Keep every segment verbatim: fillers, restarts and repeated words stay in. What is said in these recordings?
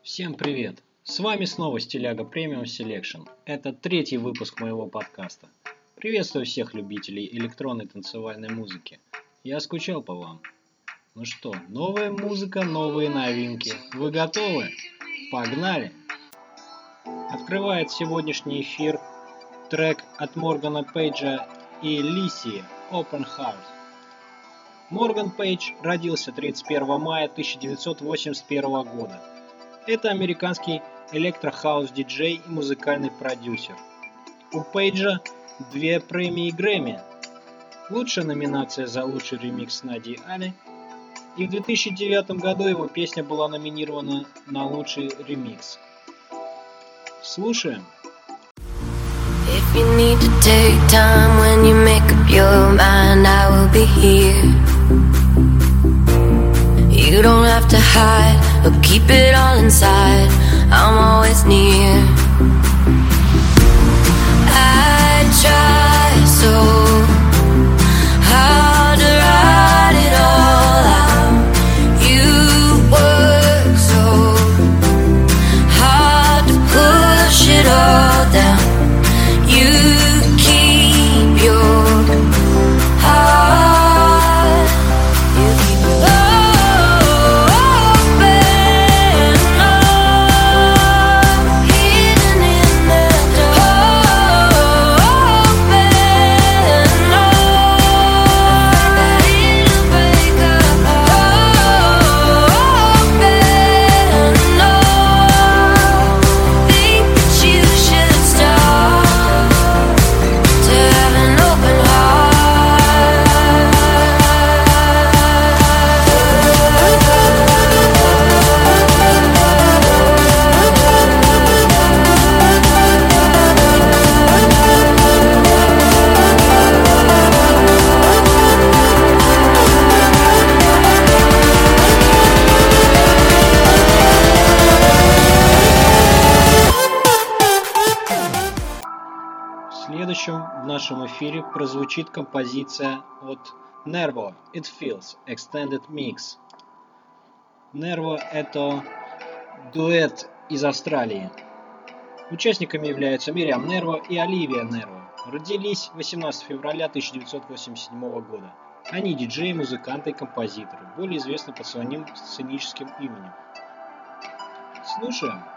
Всем привет! С вами снова Стиляга Premium Selection. Это третий выпуск моего подкаста. Приветствую всех любителей электронной танцевальной музыки. Я скучал по вам. Ну что, новая музыка, новые новинки. Вы готовы? Погнали! Открывает сегодняшний эфир трек от Моргана Пейджа и Лисии Open Heart. Морган Пейдж родился тридцать первого мая тысяча девятьсот восемьдесят первого года. Это американский электро-хаус-диджей и музыкальный продюсер. У Пейджа две премии Грэмми. Лучшая номинация за лучший ремикс Нади Али. И в две тысячи девятом году его песня была номинирована на лучший ремикс. Слушаем. If you need to take time when you make up your mind, I will be here. You don't have to hide or keep it all inside. I'm always near. I try so hard to write it all out. You work so hard to push it all down. You keep your heart. You keep it open, oh, hidden in the dark. Open, oh, it'll break up. Open, oh, think that you should start to have an open В следующем в нашем эфире прозвучит композиция от Nervo It Feels Extended Mix. Nervo — это дуэт из Австралии. Участниками являются Мириам Нерво и Оливия Нерво. Родились восемнадцатого февраля тысяча девятьсот восемьдесят седьмого года. Они диджеи, музыканты и композиторы, более известны под своим сценическим именем. Слушаем.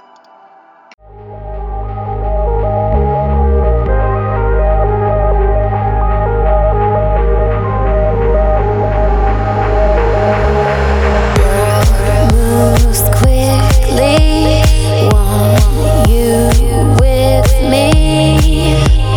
moves quickly. Want you with me.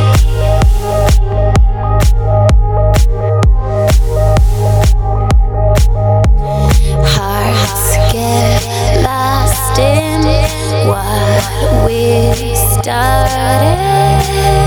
Hearts get lost in what we started.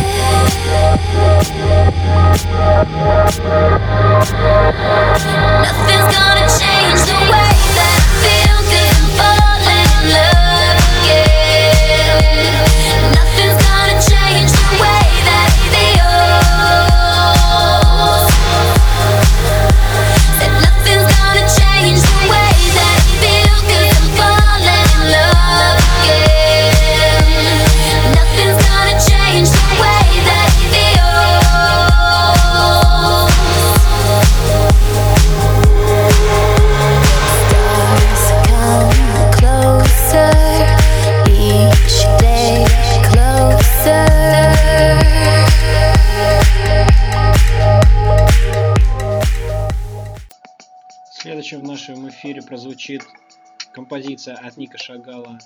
Nothing's gonna change the way that I feel, 'cause I'm falling in love again. Nothing's gonna change the way that I feel. Said nothing's gonna change the way that I feel, 'cause I'm falling in love again. Nothing's gonna change the way that I feel. Stars come closer, each day closer. Следующим в нашем эфире прозвучит композиция от Ника Шагала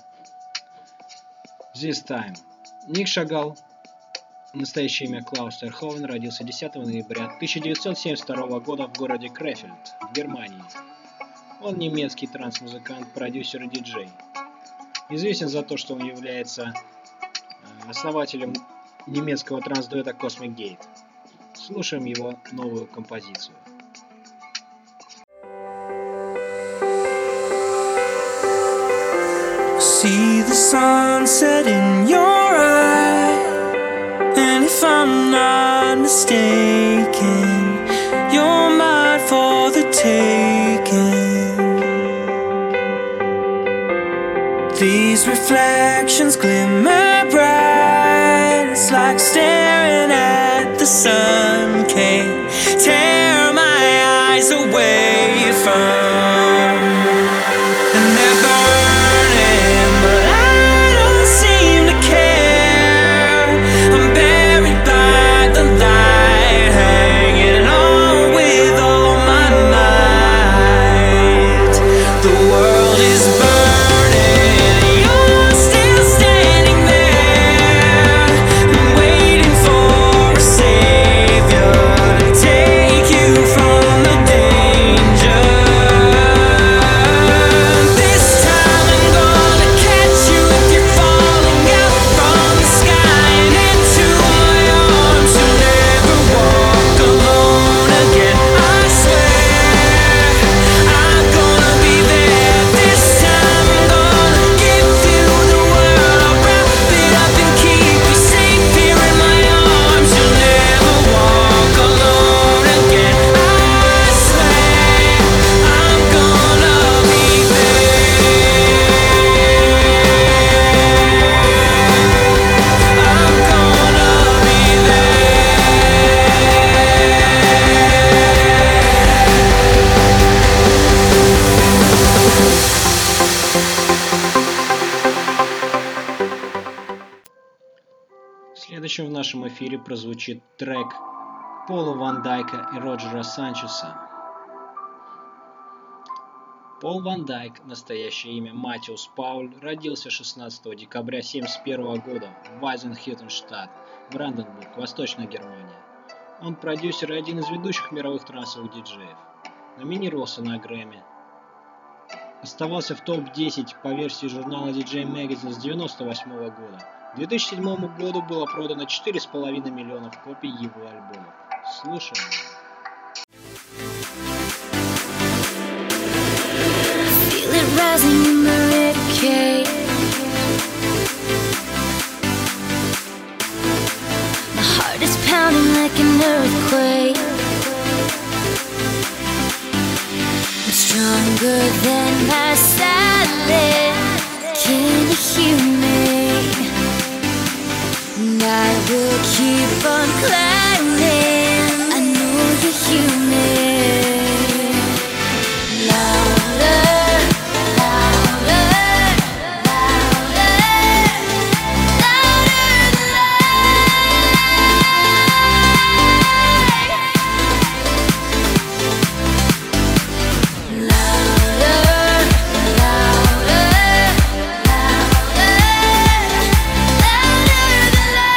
This Time. Ник Шагал, настоящее имя Клаус Терховен, родился десятого ноября тысяча девятьсот семьдесят второго года в городе Крефельд, в Германии. Он немецкий транс-музыкант, продюсер и диджей. Известен за то, что он является э, основателем немецкого транс-дуэта Cosmic Gate. Слушаем его новую композицию. See the sunset in your eye, and if I'm not mistaken, you're mine for the taking. These reflections glimmer bright. It's like staring at the sun. Can't tear my eyes away from. And they're burning, but I don't seem to care. I'm buried by the light, hanging on with all my might. The world is burning, you're still standing there, waiting for a savior to take you from the danger. This time I'm gonna catch you if you're falling out from the sky and into my arms. You'll never walk alone again, I swear. I'm gonna be there. This time I'm gonna give you the world. I'll wrap it up and keep you safe here in my arms. You'll never walk alone again, I swear. I'm gonna be there. I'm gonna be Следующим в нашем эфире прозвучит трек Пола Ван Дайка и Роджера Санчеса. Пол Ван Дайк, настоящее имя Матиус Пауль, родился шестнадцатого декабря тысяча девятьсот семьдесят первого года в Вайзенхютенштадт, Бранденбург, Восточная Германия. Он продюсер и один из ведущих мировых трансовых диджеев. Номинировался на Грэмми. Оставался в топ десять по версии журнала ди джей Magazine с девяносто восьмого года. К две тысячи седьмому году было продано четыре с половиной миллионов копий его альбомов. Слушаем. Feel it rising in my ribcage. My heart is pounding like an earthquake. I'm stronger than my silence. Can you hear me? And I will keep on climbing. I know you hear me. Louder, louder, louder, louder than light. Louder, louder, louder, louder than light.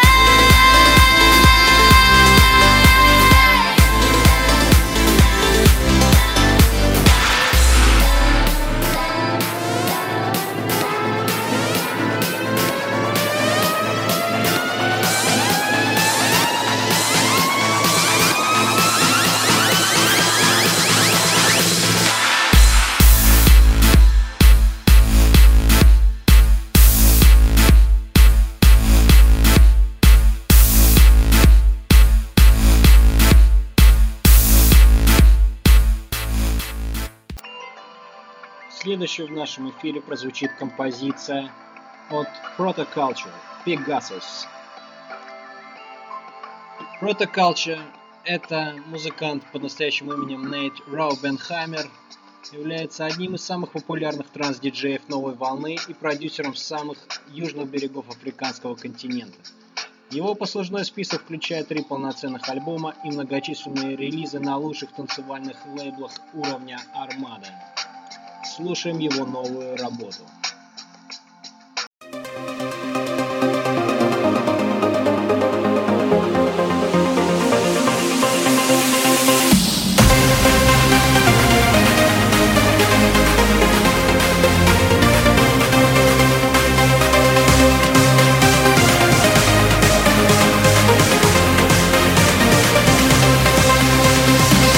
Следующей в нашем эфире прозвучит композиция от Protoculture Pegasus. Protoculture — это музыкант под настоящим именем Нейт Раубенхаймер, является одним из самых популярных транс-диджеев новой волны и продюсером самых южных берегов африканского континента. Его послужной список включает три полноценных альбома и многочисленные релизы на лучших танцевальных лейблах уровня Armada. Слушаем его новую работу.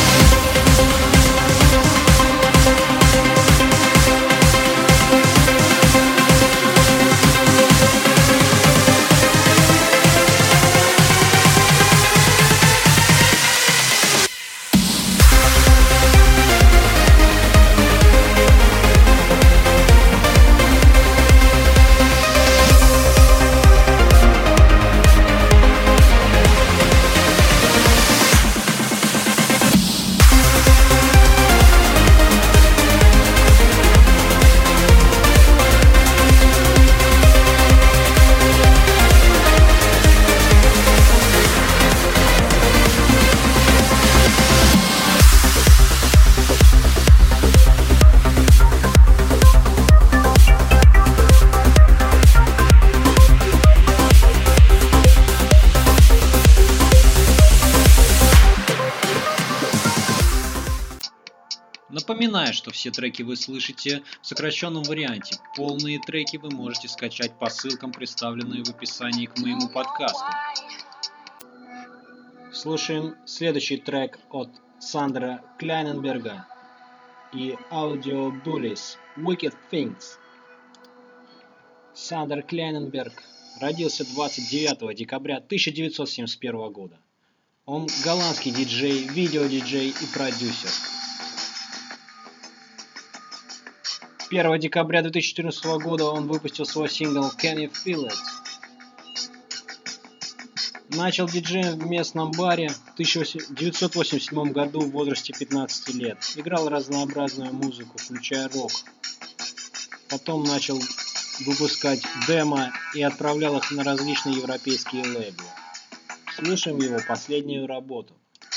Louder, Напоминаю, что все треки вы слышите в сокращенном варианте. Полные треки вы можете скачать по ссылкам, представленным в описании к моему подкасту. Слушаем следующий трек от Сандера Клайненберга и Audio Bullies Wicked Things. Сандер Клайненберг родился двадцать девятого декабря тысяча девятьсот семьдесят первого года. Он голландский диджей, видеодиджей и продюсер. первого декабря две тысячи четырнадцатого года он выпустил свой сингл Can You Feel It? Начал диджеем в местном баре в тысяча девятьсот восемьдесят седьмом году в возрасте пятнадцати лет. Играл разнообразную музыку, включая рок. Потом начал выпускать демо и отправлял их на различные европейские лейблы. Слушаем его последнюю работу.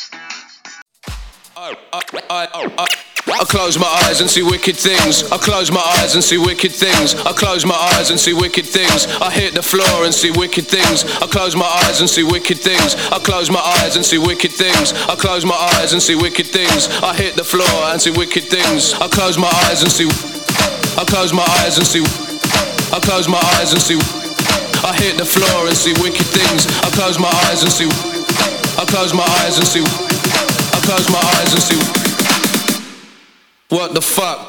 I close my eyes and see wicked things. I close my eyes and see wicked things. I close my eyes and see wicked things. I hit the floor and see wicked things. I close my eyes and see wicked things. I close my eyes and see wicked things. I close my eyes and see wicked things. I hit the floor and see wicked things. I close my eyes and see. I close my eyes and see. I close my eyes and see. I hit the floor and see wicked things. I close my eyes and see. I close my eyes and see. I close my eyes and see. What the fuck?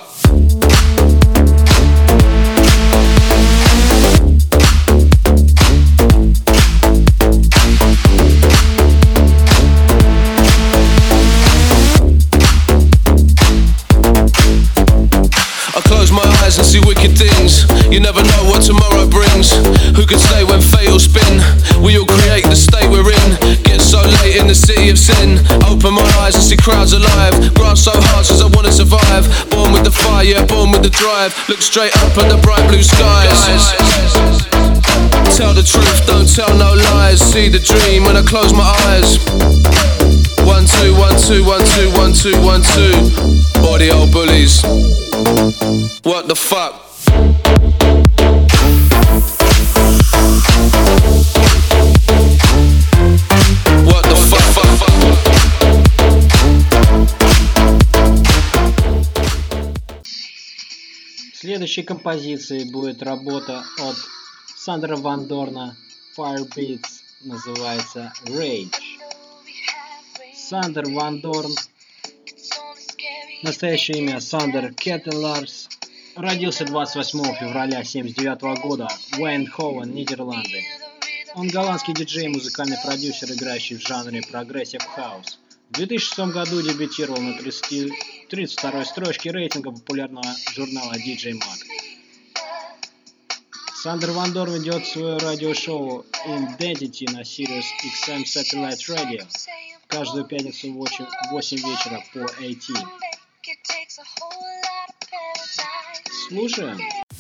I close my eyes and see wicked things. You never know what tomorrow brings. Who can say when fate will spin? We all create the state we're in. Get so late in the city of sin. Open my eyes and see crowds alive. Graft so hard since I wanna survive. Born with the fire, yeah, born with the drive. Look straight up at the bright blue skies. Tell the truth, don't tell no lies. See the dream when I close my eyes. One, two, one, two, one, two, one, two, one, two. All the old bullies. What the fuck? What the fuck? Следующей композицией будет работа от Сандера Ван Дорна, Firebeats, называется Rage. Сандер Ван Дорн, настоящее имя Сандер Кеттеларс, родился двадцать восьмого февраля семьдесят девятого года в Эйндховен, Нидерланды. Он голландский диджей и музыкальный продюсер, играющий в жанре прогрессив хаус. В две тысячи шестом году дебютировал на тридцать второй строчке рейтинга популярного журнала ди джей Mag. Сандер Ван Дорн ведет свое радиошоу Identity на Sirius икс эм Satellite Radio каждую пятницу в восемь вечера по эй ти. Слушаем.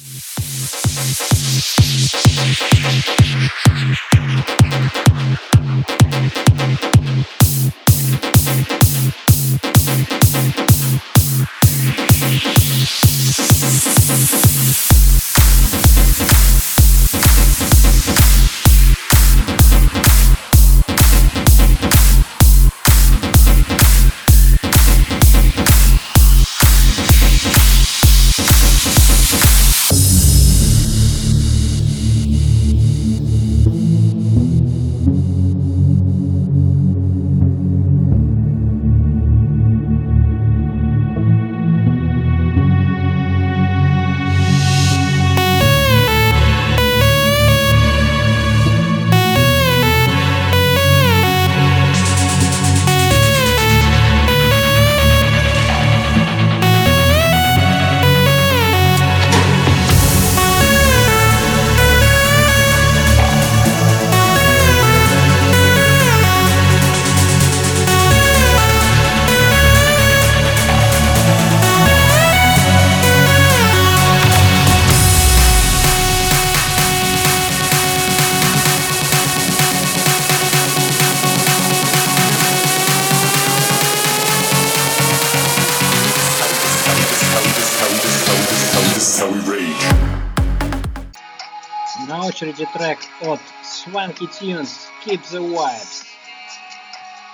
На очереди трек от Swanky Tunes Keep the Vibes.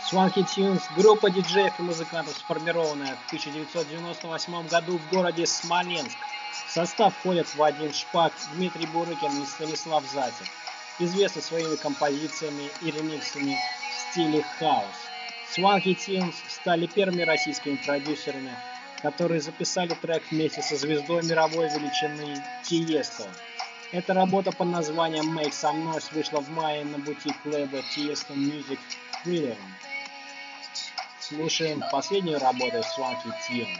Swanky Tunes – группа диджеев и музыкантов, сформированная в тысяча девятьсот девяносто восьмом году в городе Смоленск. В состав входят Вадим Шпак, Дмитрий Бурыкин и Станислав Зайцев, известны своими композициями и ремиксами в стиле хаус. Swanky Tunes стали первыми российскими продюсерами, которые записали трек вместе со звездой мировой величины Тиесто. Эта работа под названием Make Some Noise вышла в мае на бутик лейбла Tiesto Music Freedom. Слушаем последнюю работу Swanky Tunes.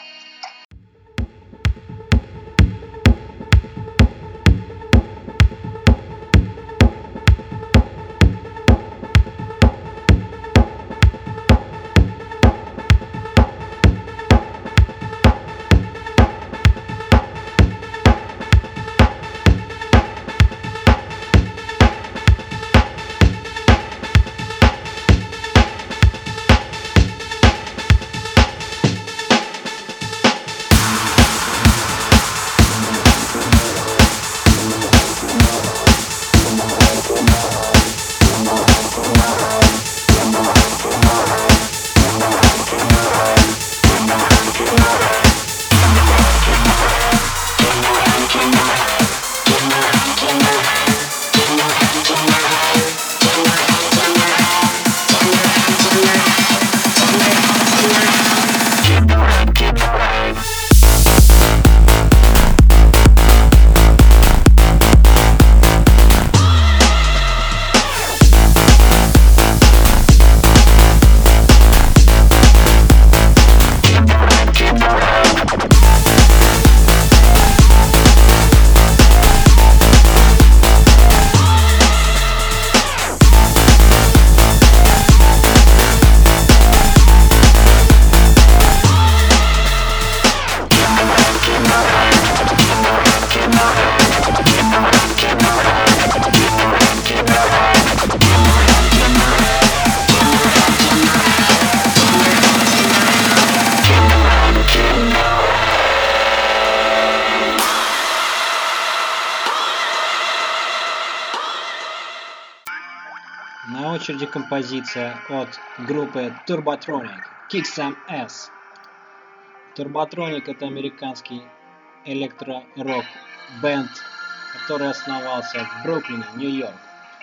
На очереди композиция от группы Turbotronic Kick Some Ass. Turbotronic — это американский электро-рок бенд, который основался в Бруклине, Нью-Йорк.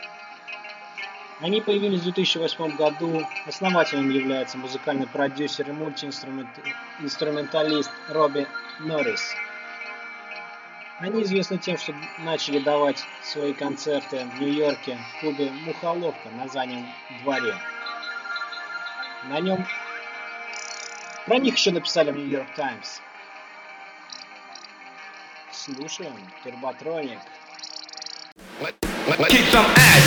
Они появились в две тысячи восьмом году. Основателем является музыкальный продюсер и мультиинструменталист Робби Норрис. Они известны тем, что начали давать свои концерты в Нью-Йорке в клубе «Мухоловка» на заднем дворе. На нем про них еще написали в Нью-Йорк Таймс. Слушаем Turbotronic. Kick some ass.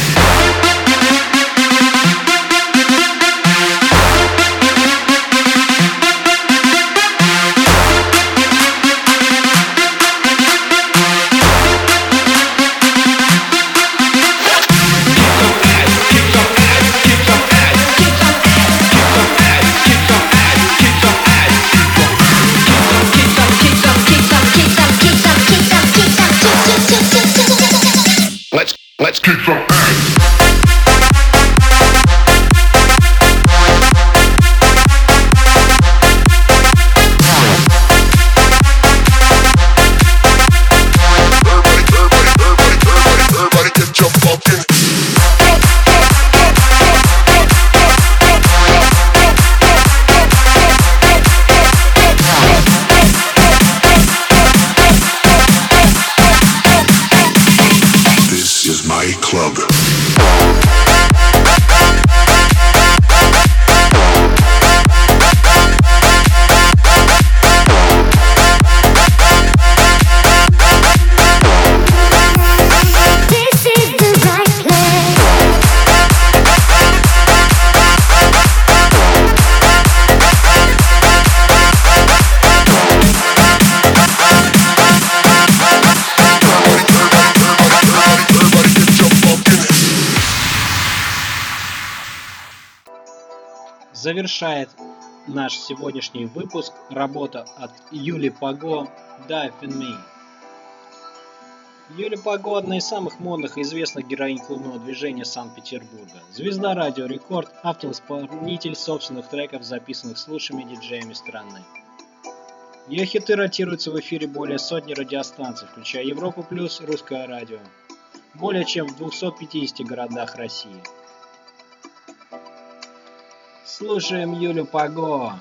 Let's let's kick some ass. Club. Завершает наш сегодняшний выпуск работа от Юли Паго «Dive in Me». Юля Паго – одна из самых модных и известных героинь клубного движения Санкт-Петербурга. Звезда Радио Рекорд, автор-исполнитель собственных треков, записанных с лучшими диджеями страны. Ее хиты ротируются в эфире более сотни радиостанций, включая Европу Плюс, Русское радио, более чем в двухстах пятидесяти городах России. Слушаем Юлю Паго.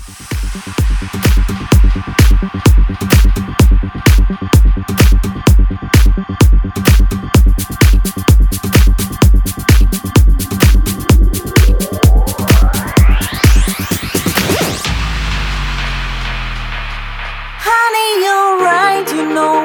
Honey, you're right, you know.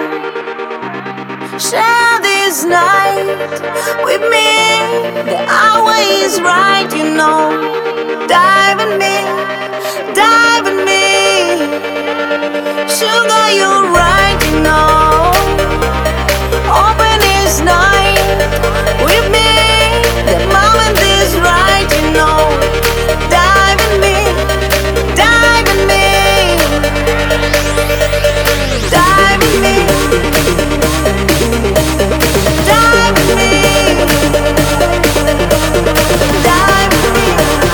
Share this night with me. The hour is right, you know. Dive in me, dive in me. Sugar, you're right, you know. Open this night with me. The moment is right, you know. Dive in me, dive in me. Dive in me, dive in me, dive in me,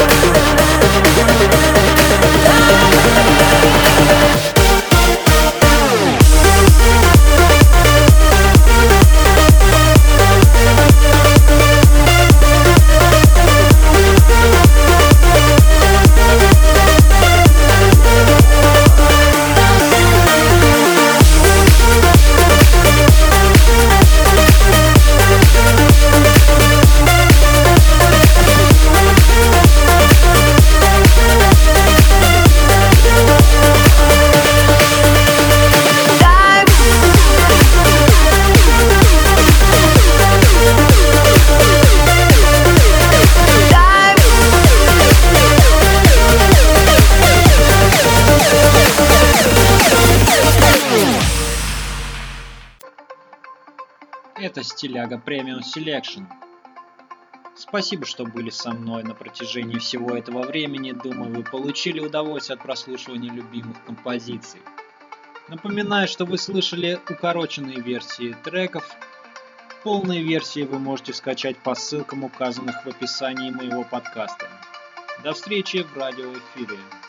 Это Стиляга Премиум Селекшн. Спасибо, что были со мной на протяжении всего этого времени. Думаю, вы получили удовольствие от прослушивания любимых композиций. Напоминаю, что вы слышали укороченные версии треков. Полные версии вы можете скачать по ссылкам, указанных в описании моего подкаста. До встречи в радиоэфире.